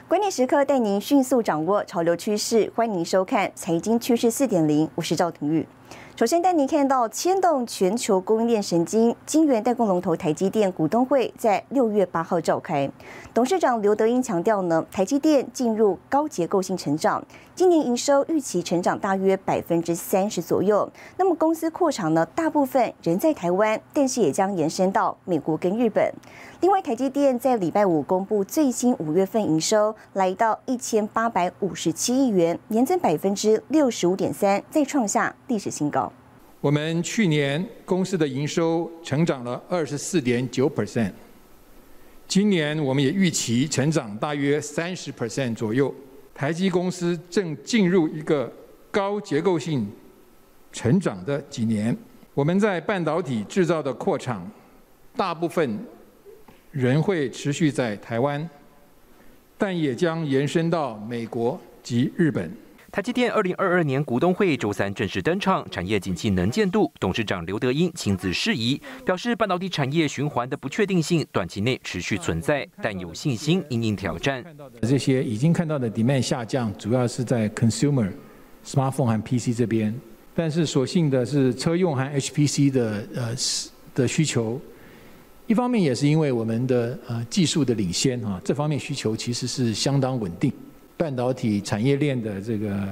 关键时刻带您迅速掌握潮流趋势，欢迎收看《财经趋势4.0》，我是赵廷玉。首先带您看到牵动全球供应链神经，晶圆代工龙头台积电股东会在6月8号召开。董事长刘德英强调呢，台积电进入高结构性成长，今年营收预期成长大约30%左右。那么公司扩厂呢，大部分仍在台湾，但是也将延伸到美国跟日本。另外，台积电在礼拜五公布最新5月份营收，来到1857亿元，年增65.3%，再创下历史新高。 我们去年公司的营收成长了24.9%，今年我们也预期成长大约30% 左右。台积公司正进入一个高结构性成长的几年。我们在半导体制造的扩厂，大部分仍会持续在台湾，但也将延伸到美国及日本。 台积电2022年股东会周三正式登场，产业景气能见度，董事长刘德英亲自示意，表示半导体产业循环的不确定性短期内持续存在，但有信心因应挑战。 这些已经看到的 demand 下降，主要是在 consumer、smartphone 和 PC 这边，但是所幸的是车用和 HPC 的需求。一方面也是因为我们的技术的领先啊，这方面需求其实是相当稳定。半导体产业链的这个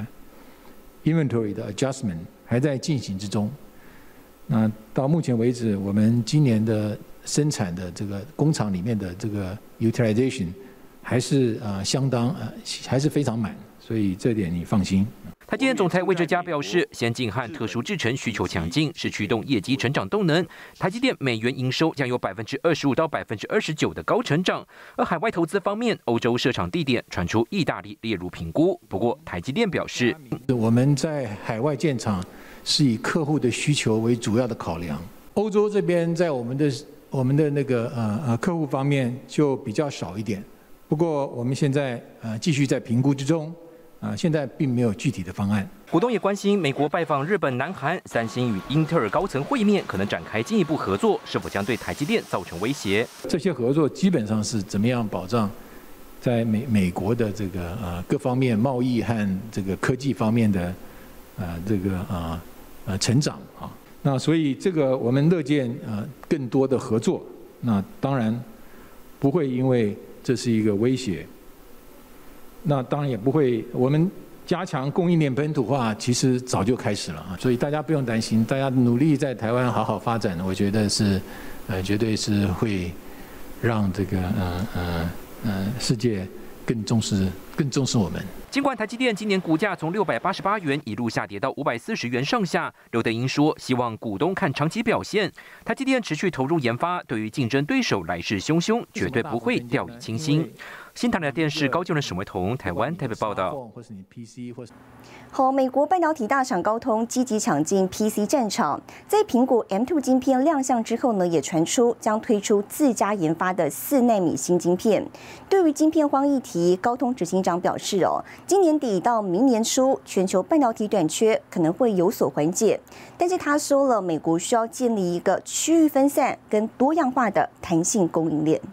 inventory 的 adjustment 还在进行之中。那到目前为止，我们今年的生产的这个工厂里面的这个 utilization 还是相当还是非常满，所以这点你放心。 台积电总裁魏哲嘉表示，先进和特殊制程需求强劲，是驱动业绩成长动能。台积电美元营收将有25%到29%的高成长。而海外投资方面，欧洲设厂地点传出意大利列入评估。不过，台积电表示， 我们在海外建厂是以客户的需求为主要的考量。欧洲这边在我们的那个客户方面就比较少一点。不过我们现在继续在评估之中。现在并没有具体的方案。 股东也关心美国拜访日本、南韩，三星与英特尔高层会面，可能展开进一步合作，是否将对台积电造成威胁？ 这些合作基本上是怎么样保障在美国的这个各方面贸易和这个科技方面的这个成长啊。那所以这个我们乐见更多的合作。那当然不会因为这是一个威胁。那当然也不会，我们加强供应链本土化，其实早就开始了啊，所以大家不用担心，大家努力在台湾好好发展，我觉得是，绝对是会让这个世界更重视我们。 尽管台积电今年股价从688元一路下跌到540元上下，刘德英说，希望股东看长期表现。台积电持续投入研发，对于竞争对手来势汹汹，绝对不会掉以轻心。新唐人电视高就人沈维彤台湾台北报道。 好，美国半导体大厂高通积极抢进 PC 战场，在苹果 M2 晶片亮相之后呢，也传出将推出自家研发的4奈米新晶片。对于晶片荒议题，高通执行长表示今年底到明年初，全球半导体短缺可能会有所缓解，但是他说了，美国需要建立一个区域分散跟多样化的弹性供应链。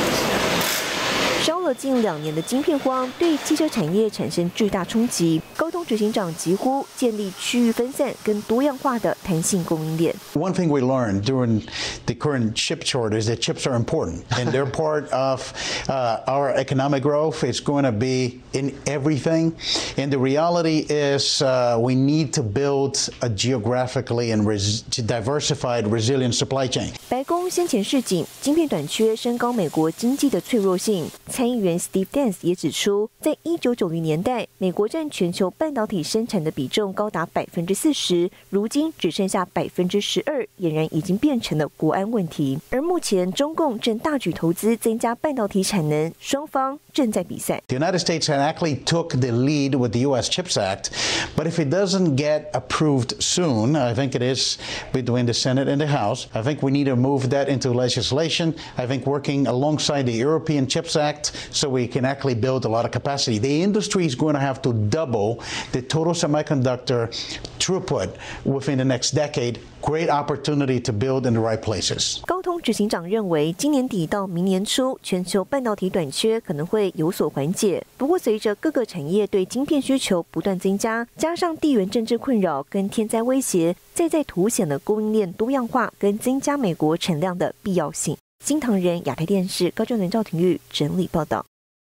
烧了近2年的晶片荒，对汽车产业产生巨大冲击。高通执行长疾呼建立区域分散跟多样化的弹性供应链。 One thing we learned during the current chip shortage is that chips are important, and they're part of our economic growth. It's going to be in everything, and the reality is we need to build a geographically and diversified, resilient supply chain. 白宫先前示警，晶片短缺升高美国经济的脆弱性。参议员 Steve Dance 也指出，在1990年代，美国占全球半导体生产的比重高达40%，如今只剩下12%，俨然已经变成了国安问题。而目前中共正大举投资增加半导体产能，双方正在比赛。 The United States actually took the lead with the U.S. CHIPS Act, but if it doesn't get approved soon, I think it is between the Senate and the House. I think we need to move that into legislation. I think working alongside the European CHIPS Act left so we can actually build a lot of capacity. The industry is going to have to double the total semiconductor throughput within the next decade. Great opportunity to build in the right places. 高通执行长认为，今年底到明年初，全球半导体短缺可能会有所缓解。不过，随着各个产业对晶片需求不断增加，加上地缘政治困扰跟天灾威胁，再凸显了供应链多样化跟增加美国产量的必要性。新唐人亚太电视高正伦、赵廷玉整理报道。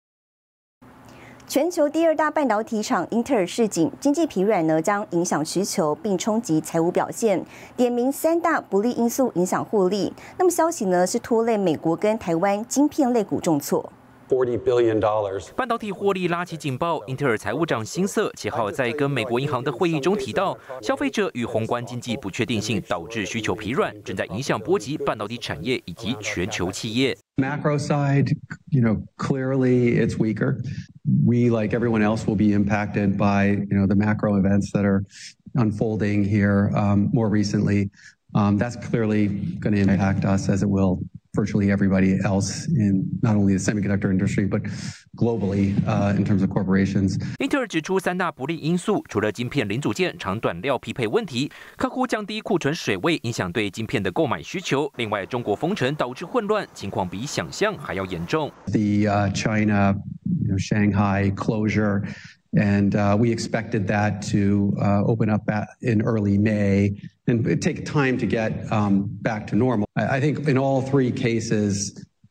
全球第2大半导体厂英特尔示警，经济疲软呢将影响需求并冲击财务表现，点名3大不利因素影响获利。那么消息呢是拖累美国跟台湾晶片类股重挫。 $40 billion. 半导体获利拉起警报，英特尔财务长辛瑟7号在跟美国银行的会议中提到，消费者与宏观经济不确定性导致需求疲软，正在影响波及半导体产业以及全球企业。 Macro side, clearly it's weaker. We, like everyone else, will be impacted by, the macro events that are unfolding here more recently. That's clearly going to impact us as it will virtually everybody else in not only the semiconductor industry, but globally in terms of corporations. 英特尔指出3大不利因素，除了晶片零组件长短料匹配问题，客户降低库存水位影响对晶片的购买需求。另外，中国封城导致混乱，情况比想象还要严重。 The China, Shanghai closure. And we expected that to open up in early May and it'd take time to get back to normal. I think in all 3 cases,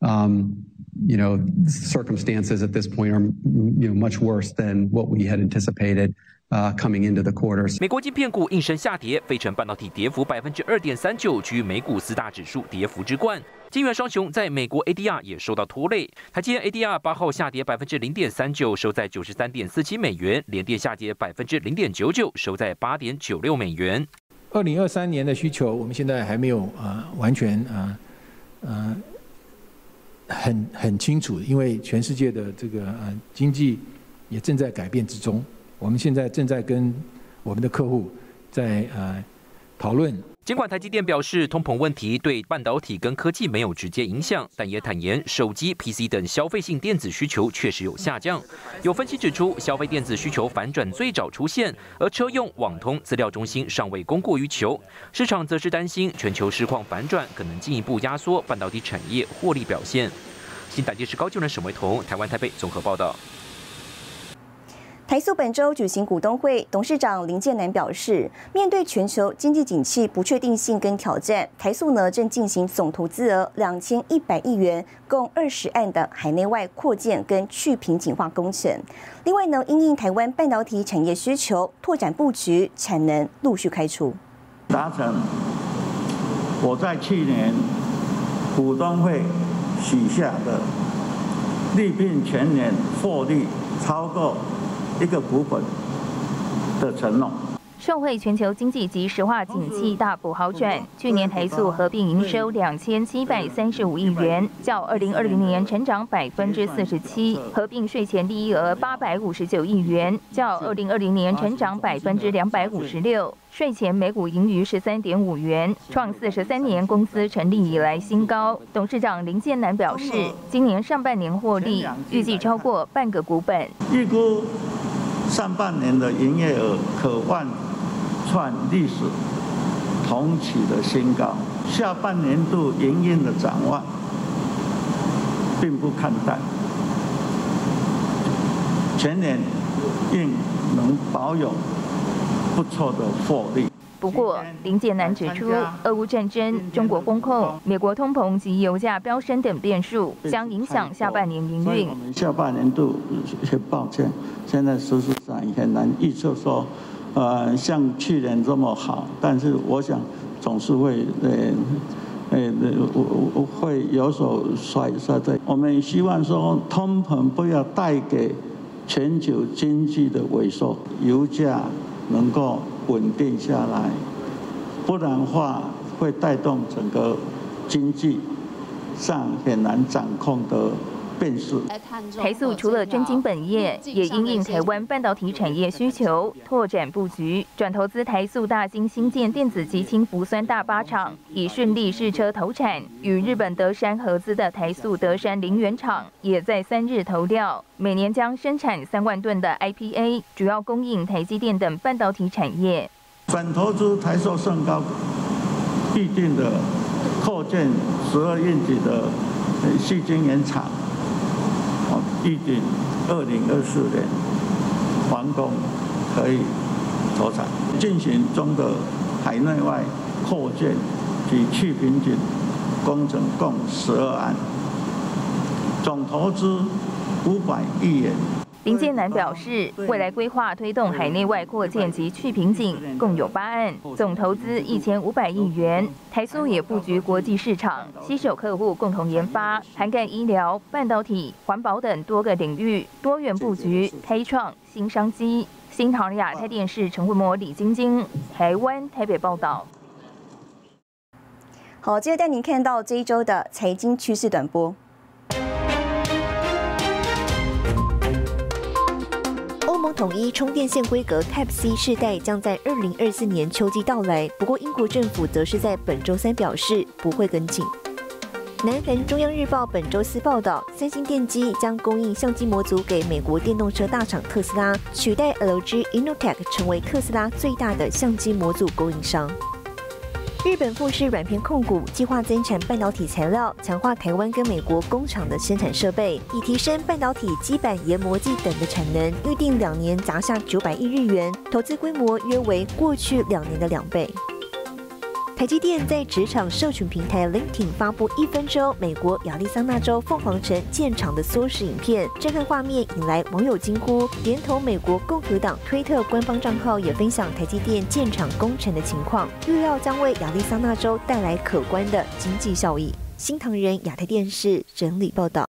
circumstances at this point are much worse than what we had anticipated. Coming into the quarters. 美国晶片股应声下跌，费城半导体跌幅2.39%，居美股4大指数跌幅之冠。晶圆双雄在美国 ADR 也受到拖累，台积电 ADR 8号下跌0.39%，收在93.47美元，联电下跌0.99%，收在8.96美元。 2023年的需求，我们现在还没有完全很清楚，因为全世界的这个经济也正在改变之中。我们现在正在跟我们的客户在讨论。 尽管台积电表示通膨问题对半导体跟科技没有直接影响，但也坦言手机、PC 等消费性电子需求确实有下降。有分析指出，消费电子需求反转最早出现，而车用、网通、资料中心尚未供过于求。市场则是担心全球市况反转可能进一步压缩半导体产业获利表现。新台电视高就能沈维彤，台湾台北综合报道。 台塑本周举行股东会，董事长林建南表示，面对全球经济景气不确定性跟挑战，台塑呢正进行总投资额2100亿元，共20案的海内外扩建跟去瓶颈化工程。另外呢，因应台湾半导体产业需求，拓展布局，产能陆续开出。 达成我在去年股东会许下的利并全年获利超过1个股本的承诺。 受惠全球经济及石化景气大幅好转，去年台塑合并营收2735亿元，较2020年成长47%；合并税前利益额859亿元，较2020年成长256%。税前每股盈余13.5元，创43年公司成立以来新高。董事长林建南表示，今年上半年获利预计超过半个股本。 预估上半年的营业额可望创历史同期的新高，下半年度营运的展望并不看淡，全年应能保有不错的获利。 不过，林建南指出，俄乌战争、中国封控、美国通膨及油价飙升等变数，将影响下半年营运。 我们下半年度，抱歉，现在事实上也很难预测说，像去年这么好，但是我想总是会会有所衰退。我们希望说，通膨不要带给全球经济的萎缩，油价能够稳定下来，不然的话会带动整个经济上很难掌控的辨识。 台塑除了专精本业，也因应台湾半导体产业需求，拓展布局，转投资台塑大兴新建电子及氢氟酸大8厂，已顺利试车投产。与日本德山合资的台塑德山林园厂，也在3日投料，每年将生产3万吨的 IPA， 主要供应台积电等半导体产业。 转投资台塑盛高预定的扩建12英尺的矽晶圆厂，预定2024年完工，可以投产。进行中的海内外扩建及去瓶颈工程共12案，总投资500亿元。 林建南表示，未来规划推动海内外扩建及去瓶颈，共有8案，总投资1500亿元。台塑也布局国际市场，携手客户共同研发，涵盖医疗、半导体、环保等多个领域，多元布局，开创新商机。新唐亚太电视陈慧模、李晶晶，台湾台北报道。 好，接着带您看到这一周的财经趋势短波。欧盟统一充电线规格 Type-C 世代将在2024年秋季到来，不过英国政府则是在本周3表示不会跟进。南韩中央日报本周4报道，三星电机将供应相机模组给美国电动车大厂特斯拉，取代 LG Innotek 成为特斯拉最大的相机模组供应商。日本富士软片控股计划增产半导体材料，强化台湾跟美国工厂的生产设备，以提升半导体基板研磨剂等的产能。预定2年砸下900亿日元，投资规模约为过去2年的2倍。台积电在职场社群平台 LinkedIn 发布1分钟美国亚利桑那州凤凰城建厂的缩时影片，震撼画面引来网友惊呼。连同美国共和党推特官方账号也分享台积电建厂工程的情况，预料将为亚利桑那州带来可观的经济效益。新唐人亚太电视整理报道。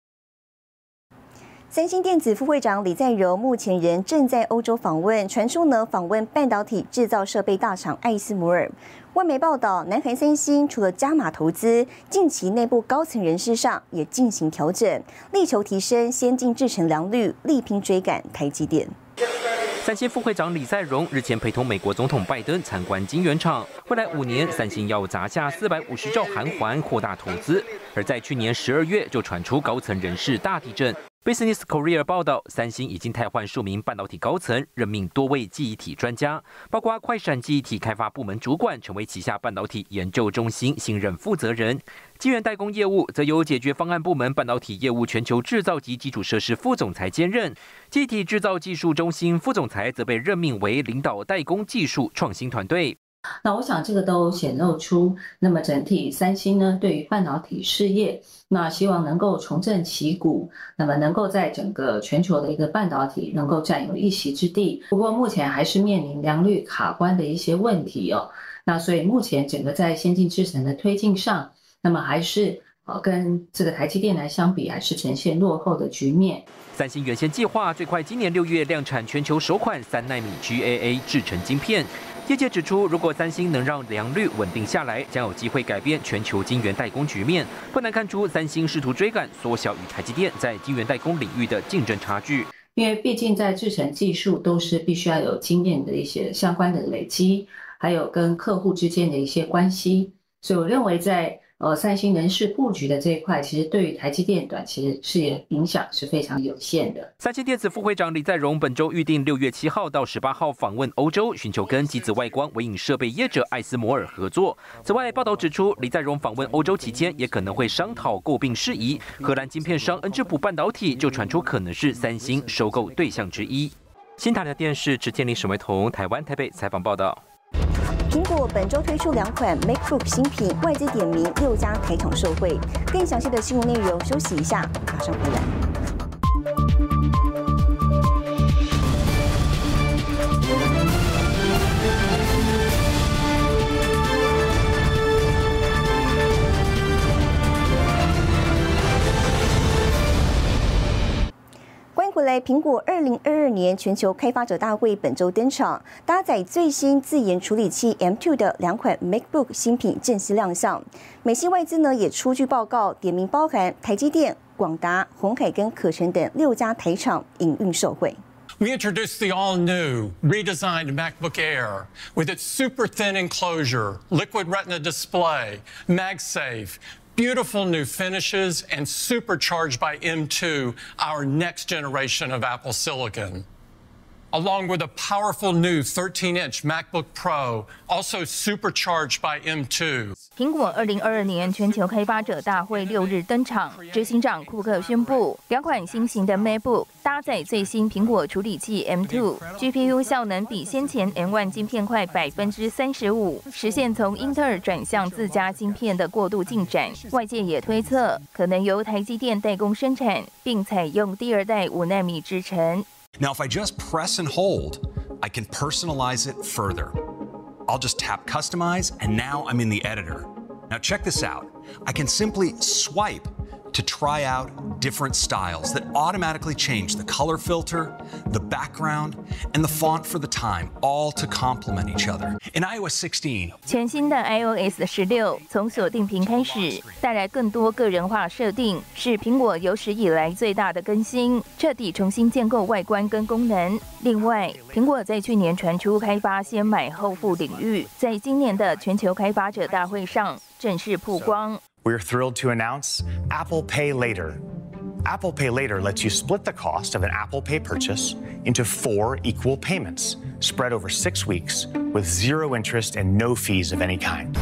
三星电子副会长李在镕目前仍正在欧洲访问，传出呢访问半导体制造设备大厂艾斯摩尔。外媒报道，南韩三星除了加码投资，近期内部高层人事上也进行调整，力求提升先进制程良率，力拼追赶台积电。 三星副会长李在镕日前陪同美国总统拜登参观晶圆厂，未来5年三星要砸下450兆韩元扩大投资，而在去年12月就传出高层人事大地震。Business Korea 报道，三星已经汰换数名半导体高层，任命多位记忆体专家，包括快闪记忆体开发部门主管成为旗下半导体研究中心新任负责人。晶圆代工业务则由解决方案部门半导体业务全球制造及基础设施副总裁兼任，记忆体制造技术中心副总裁则被任命为领导代工技术创新团队。 那我想这个都显露出，那么整体三星呢对于半导体事业，那希望能够重振旗鼓，那么能够在整个全球的一个半导体能够占有一席之地。不过目前还是面临良率卡关的一些问题哦。那所以目前整个在先进制程的推进上，那么还是跟这个台积电来相比，还是呈现落后的局面。 三星原先计划最快今年6月量产全球首款3奈米 GAA 制程晶片。业界指出，如果三星能让良率稳定下来，将有机会改变全球晶圆代工局面。不难看出，三星试图追赶缩小与台积电在晶圆代工领域的竞争差距。 因为毕竟在制程技术都是必须要有经验的一些相关的累积，还有跟客户之间的一些关系，所以我认为在三星人事布局的这一块，其实对于台积电短期事业影响是非常有限的。 三星电子副会长李在镕本周预定6月7号到18号访问欧洲，寻求跟机子外观微影设备业者艾斯摩尔合作。此外，报道指出，李在镕访问欧洲期间，也可能会商讨购并事宜。荷兰晶片商恩智浦半导体就传出可能是三星收购对象之一。新唐人电视池建林、沈维彤，台湾台北采访报道。 苹果本周推出2款 MacBook 新品，外资点名6家台厂受惠。更详细的新闻内容，休息一下，马上回来。 欢回来，苹果2022年全球开发者大会本周登场，搭载最新自研处理器 M2 的2款 MacBook 新品正式亮相。美系外资呢也出具报告，点名包含台积电、广达、鸿海跟可成等6家台厂营运受惠。 We introduced the all-new, redesigned MacBook Air with its super thin enclosure, liquid retina display, MagSafe, beautiful new finishes, and supercharged by M2, our next generation of Apple Silicon. Along with a powerful new 13-inch MacBook Pro, also supercharged by M2. 苹果2022年全球开发者大会6日登场，执行长库克宣布，2款新型的 MacBook 搭载最新苹果处理器 M2，GPU 效能比先前 M1 晶片快35%，实现从英特尔转向自家晶片的过渡进展。外界也推测，可能由台积电代工生产，并采用第2代5奈米制程。 Now, if I just press and hold, I can personalize it further. I'll just tap Customize, and now I'm in the editor. Now, check this out. I can simply swipe to try out different styles that automatically change the color filter, the background, and the font for the time, all to complement each other. In iOS 16, 全新的 iOS 16从锁定屏开始，带来更多个人化设定，是苹果有史以来最大的更新，彻底重新建构外观跟功能。另外，苹果在去年传出开发先买后付领域，在今年的全球开发者大会上正式曝光。 We're thrilled to announce Apple Pay Later. Apple Pay Later lets you split the cost of an Apple Pay purchase into 4 equal payments, spread over 6 weeks, with 0 interest and no fees of any kind.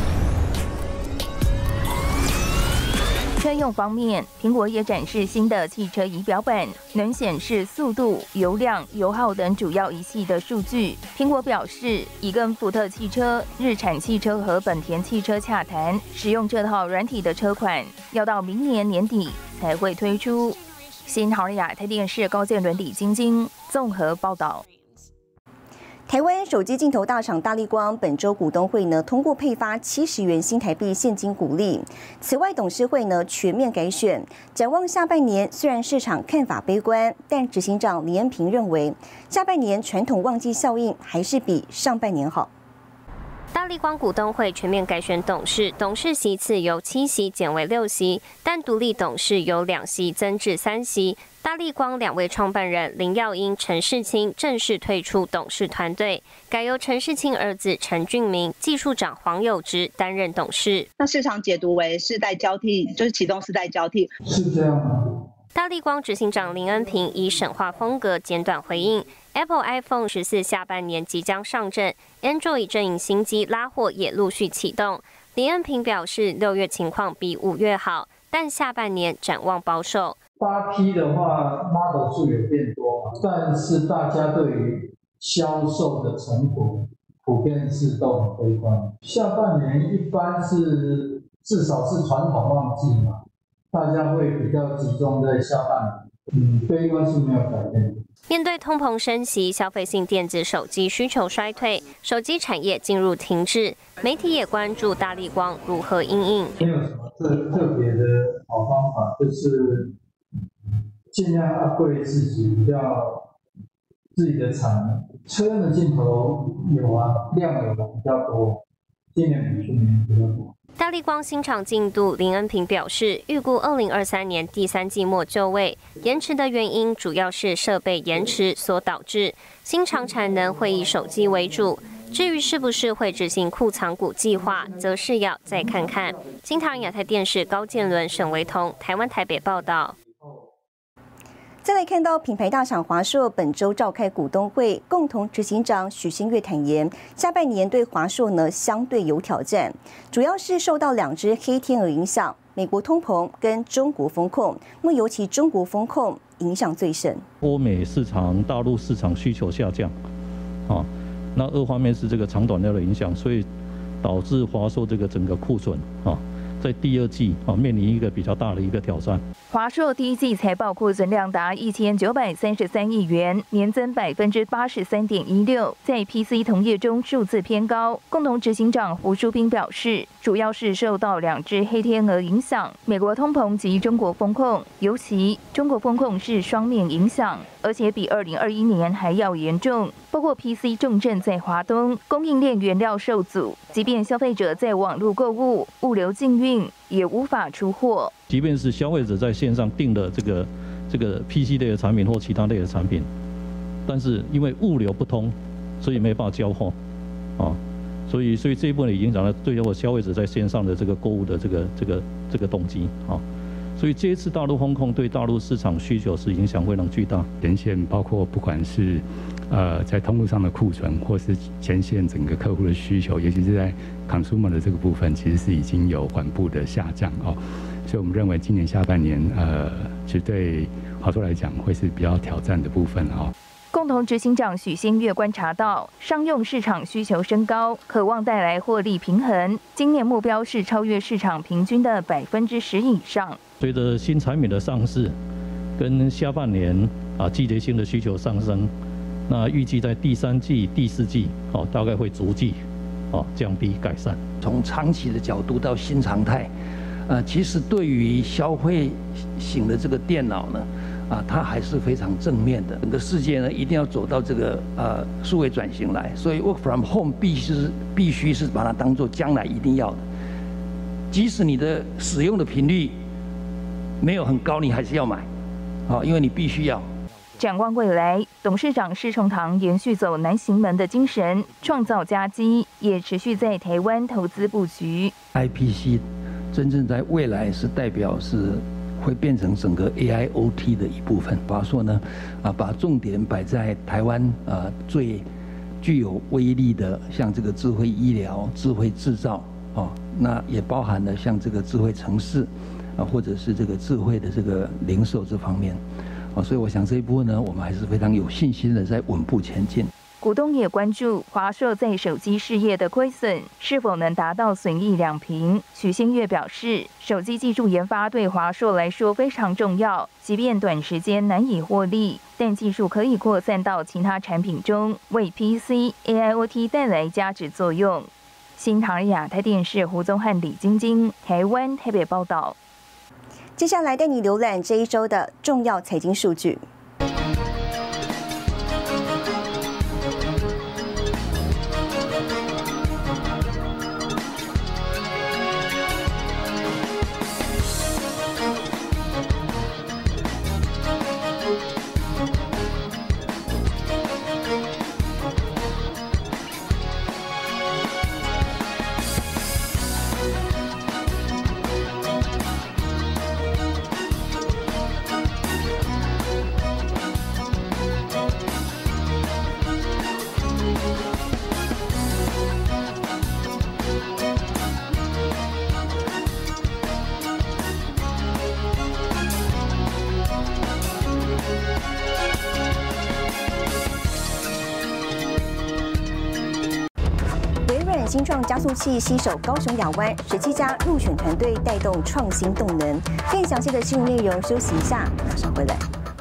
车用方面，苹果也展示新的汽车仪表板，能显示速度、油量、油耗等主要仪器的数据。苹果表示，已跟福特汽车、日产汽车和本田汽车洽谈，使用这套软体的车款，要到明年年底才会推出。新唐人亚太电视高建伦、李晶晶综合报道。 台湾手机镜头大厂大立光本周股东会呢通过配发70元新台币现金股利。此外，董事会呢全面改选。展望下半年，虽然市场看法悲观，但执行长李恩平认为，下半年传统旺季效应还是比上半年好。 大立光股东会全面改选董事，董事席次由7席减为6席，但独立董事由2席增至3席。大立光2位创办人林耀英、陈世清正式退出董事团队，改由陈世清儿子陈俊明、技术长黄友植担任董事。 那市场解读为世代交替，就是启动世代交替， 是这样吗？ 大立光执行长林恩平以神话风格简短回应 ：Apple iPhone 14下半年即将上阵 ，Android 阵营新机拉货也陆续启动。林恩平表示，6月情况比5月好，但下半年展望保守。 8P 的话 ，model 数也变多嘛，但是大家对于销售的成果普遍是都很悲观。下半年一般是至少是传统旺季嘛。大家会比较集中在下半年，悲观是没有改变。 面对通膨升息，消费性电子手机需求衰退，手机产业进入停滞。媒体也关注大立光如何因应。 没有什么特别的好方法，就是尽量upgrade自己，比较自己的产能。车用的镜头有啊，量有的比较多，今年比去年比较多。 大立光新厂进度，林恩平表示，预估2023年第3季末就位，延迟的原因主要是设备延迟所导致。新厂产能会以手机为主，至于是不是会执行库藏股计划，则是要再看看。新唐人亚太电视高建伦、沈维彤，台湾台北报道。 再来看到品牌大厂华硕本周召开股东会，共同执行长许新月坦言，下半年对华硕呢相对有挑战，主要是受到2只黑天鹅影响，美国通膨跟中国风控，那么尤其中国风控影响最深。 欧美市场、大陆市场需求下降，那2方面是这个长短料的影响，所以导致华硕这个整个库存在第2季面临一个比较大的一个挑战。 华硕第1季财报库存量达1933亿元，年增83.16%，在 PC 同业中数字偏高。共同执行长胡淑斌表示，主主要是受到2只黑天鹅影响，美国通膨及中国风控，尤其中国风控是双面影响，而且比2021年还要严重。包括 PC 重镇在华东，供应链原料受阻，即便消费者在网络购物，物流禁运也无法出货。 即便是消费者在线上订的这个 PC 类的产品或其他类的产品，但是因为物流不通，所以没办法交货，啊。所以这一部分也影响了对我消费者在线上的这个购物的这个动机啊，所以这一次大陆风控对大陆市场需求是影响非常巨大。 前线包括不管是在通路上的库存，或是前线整个客户的需求，尤其是在 consumer 的这个部分，其实是已经有缓步的下降哦。所以我们认为今年下半年其实对华硕来讲会是比较挑战的部分哦。 共同执行长许新月观察到，商用市场需求升高，渴望带来获利平衡。今年目标是超越市场平均的10%以上。 随着新产品的上市，跟下半年季节性的需求上升，那预计在第3季、第4季大概会逐季降低改善。 从长期的角度到新常态，其实对于消费型的这个电脑呢。它还是非常正面的。整个世界呢，一定要走到这个数位转型来，所以 work from home 必须是把它当作将来一定要的。即使你的使用的频率没有很高，你还是要买，因为你必须要。 展望未来，董事长施崇棠延续走南行门的精神，创造佳绩，也持续在台湾投资布局。 IPC 真正在未来是代表是。会变成整个 AIoT 的一部分。华硕呢，把重点摆在台湾最具有威力的，像这个智慧医疗、智慧制造，那也包含了像这个智慧城市，或者是这个智慧的这个零售这方面，所以我想这一部分呢，我们还是非常有信心的在稳步前进。 股东也关注华硕在手机事业的亏损是否能达到损益两平。许新月表示，手机技术研发对华硕来说非常重要，即便短时间难以获利，但技术可以扩散到其他产品中，为 PC、AIoT 带来价值作用。新唐人亚太电视胡宗翰、李晶晶，台湾台北报道。 接下来带你浏览这一周的重要财经数据。新创加速器携手高雄亚湾17家入选团队，带动创新动能。更详细的新闻内容，休息一下，马上回来。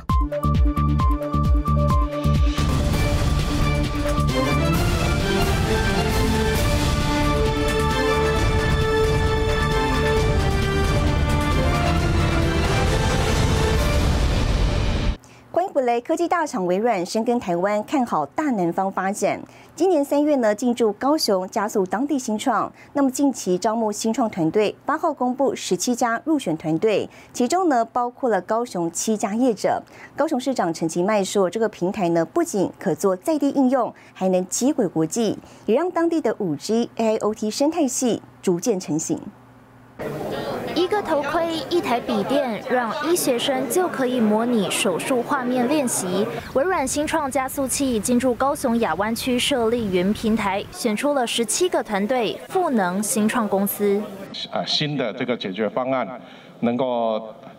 欢迎回来，科技大厂微软深耕台湾，看好大南方发展。今年3月呢，进驻高雄，加速当地新创。那么近期招募新创团队，8号公布17家入选团队，其中呢包括了高雄7家业者。高雄市长陈其迈说，这个平台呢不仅可做在地应用，还能接轨国际，也让当地的5G、AIoT 生态系逐渐成型。 一个头盔，一台笔电，让医学生就可以模拟手术画面练习。微软新创加速器进驻高雄亚湾区设立云平台，选出了17个团队，赋能新创公司。 新的这个解决方案能够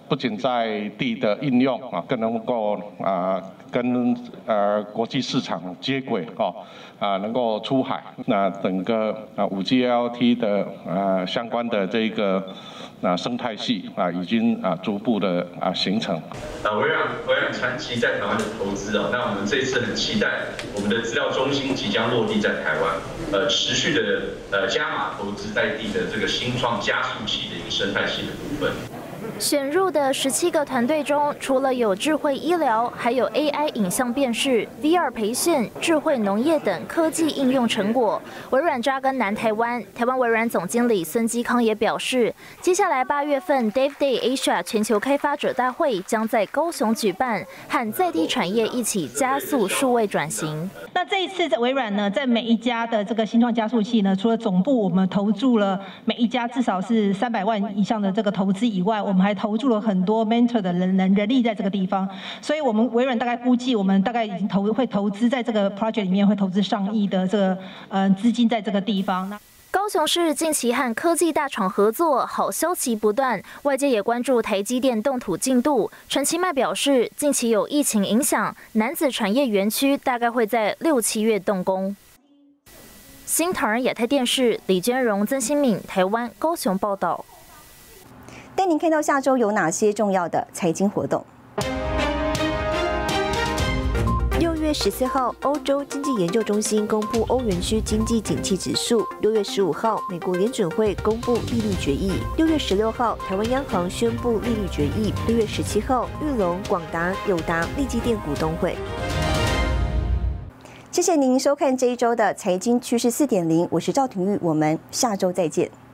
不仅在地的应用啊，更能够跟国际市场接轨能够出海。那整个5G LLT 的相关的这个生态系已经逐步的形成。 微软长期在台湾的投资那我们这一次很期待我们的资料中心即将落地在台湾，持续的加码投资在地的这个新创加速器的一个生态系的部分。 选入的17个团队中，除了有智慧医疗，还有 AI 影像辨识、VR 培训、智慧农业等科技应用成果。微软扎根南台湾，台湾微软总经理孙基康也表示，接下来8月份 Dev Day Asia 全球开发者大会将在高雄举办，和在地产业一起加速数位转型。 那这一次微软呢，在每一家的这个新创加速器呢，除了总部我们投注了每一家至少是300万以上的这个投资以外，我们还投注了很多 mentor 的人力在这个地方，所以我们微软大概估计，我们大概已经会投资在这个 project 里面，会投资上亿的这个资金在这个地方。 高雄市近期和科技大厂合作，好消息不断，外界也关注台积电动土进度。陈其迈表示，近期有疫情影响，楠梓产业园区大概会在6、7月动工。新唐人亚太电视李娟荣、曾新敏，台湾高雄报道。 带您看到下周有哪些重要的财经活动。 6月14号，欧洲经济研究中心公布欧元区经济景气指数。6月15号，美国联准会公布利率决议。6月16号，台湾央行宣布利率决议。6月17号，裕隆、广达、友达、力积电股东会。 谢谢您收看这一周的财经趋势4.0，我是赵廷玉，我们下周再见。